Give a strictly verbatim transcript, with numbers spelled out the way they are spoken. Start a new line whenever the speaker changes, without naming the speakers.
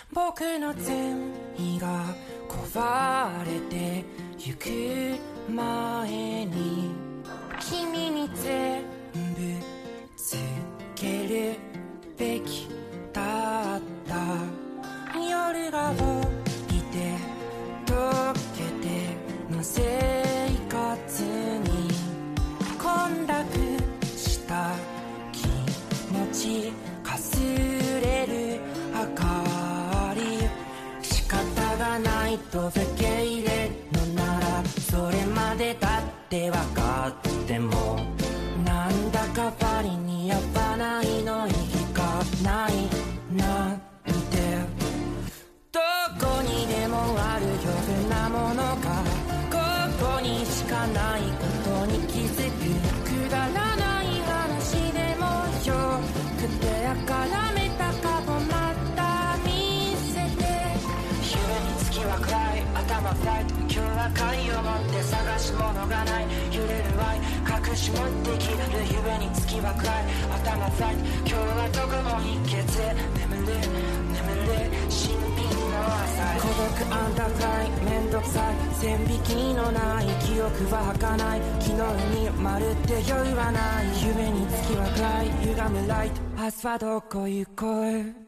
僕の全意が壊れてゆく前に君に全部つけるべきだった夜が起きて溶けての生活に混濁した気持ちかすれる明かり仕方がないと受け入れるのならそれまでだって分かってもなんだかパリに合わないの意義がないなんてどこにでもある余分なものがここにしかないことに気づくくだらない話でもよくてあからめた過去また見せて夢に月は暗い頭フライト今日は貝を持って探し物がない揺れる愛隠し持ってきる夢に月は暗い頭フライト今日はどこも秘訣眠れ眠れ新品の朝孤独アンダーフライめんどくさい線引きのない記憶は儚い昨日にまるって酔いはない夢に月は暗い歪むライト明日はどこ行こう